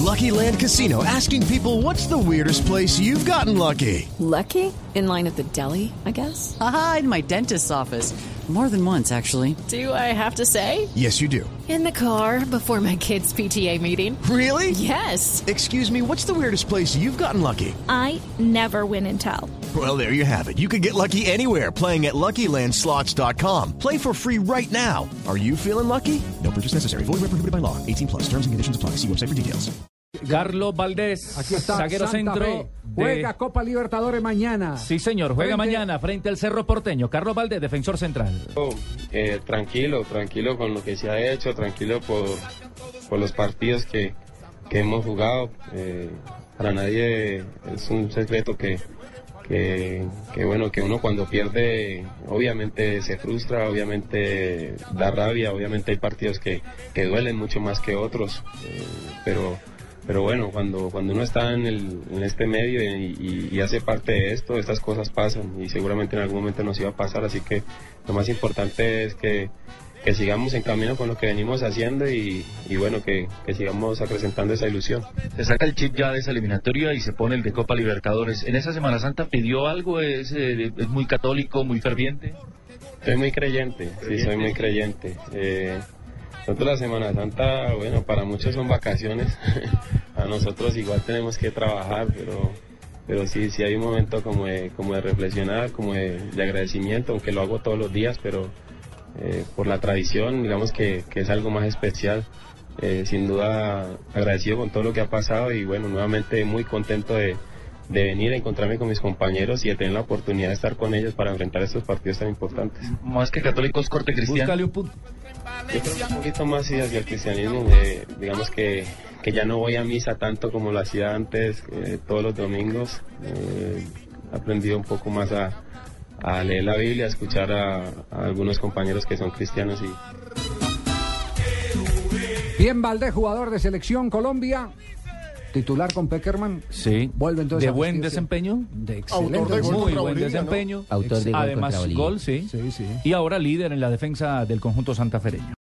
Lucky Land Casino, asking people, what's the weirdest place you've gotten lucky? Lucky? In line at the deli, I guess? Aha, in my dentist's office. More than once, actually. Do I have to say? Yes, you do. In the car before my kids' PTA meeting. Really? Yes. Excuse me, what's the weirdest place you've gotten lucky? I never win and tell. Well, there you have it. You can get lucky anywhere, playing at LuckyLandSlots.com. Play for free right now. Are you feeling lucky? No purchase necessary. Void where prohibited by law. 18+. Terms and conditions apply. See website for details. Carlos Valdés, aquí está, zaguero Santa centro. Fe. Juega Copa Libertadores mañana. Sí, señor, juega mañana frente al Cerro Porteño. Carlos Valdés, defensor central. Tranquilo con lo que se ha hecho, tranquilo por los partidos que hemos jugado. Para nadie es un secreto que bueno, que uno cuando pierde obviamente se frustra, obviamente da rabia, obviamente hay partidos que duelen mucho más que otros, pero bueno, cuando uno está en este medio y hace parte de esto, estas cosas pasan y seguramente en algún momento nos iba a pasar, así que lo más importante es que sigamos en camino con lo que venimos haciendo y bueno, que sigamos acrecentando esa ilusión. Se saca el chip ya de esa eliminatoria y se pone el de Copa Libertadores. ¿En esa Semana Santa pidió algo? ¿Es muy católico, muy ferviente? Soy muy creyente, sí, soy muy creyente. Nosotros la Semana Santa, bueno, para muchos son vacaciones, a nosotros igual tenemos que trabajar, pero sí hay un momento como de reflexionar, como de agradecimiento, aunque lo hago todos los días, pero por la tradición, digamos que es algo más especial. Sin duda agradecido con todo lo que ha pasado y bueno, nuevamente muy contento de venir a encontrarme con mis compañeros y de tener la oportunidad de estar con ellos para enfrentar estos partidos tan importantes. Más que católicos, corte cristiano. Búscale un punto. Yo creo que un poquito más sí, hacia el cristianismo, digamos que ya no voy a misa tanto como lo hacía antes, todos los domingos. He aprendido un poco más a leer la Biblia, a escuchar a algunos compañeros que son cristianos. Bien, Valdés, jugador de Selección Colombia, titular con Peckerman. Sí. Vuelve entonces de buen desempeño. De excelente. Autor de gol muy buen desempeño. ¿No? Autor de gol además contra Bolivia. gol, sí. Sí. Y ahora líder en la defensa del conjunto santafereño.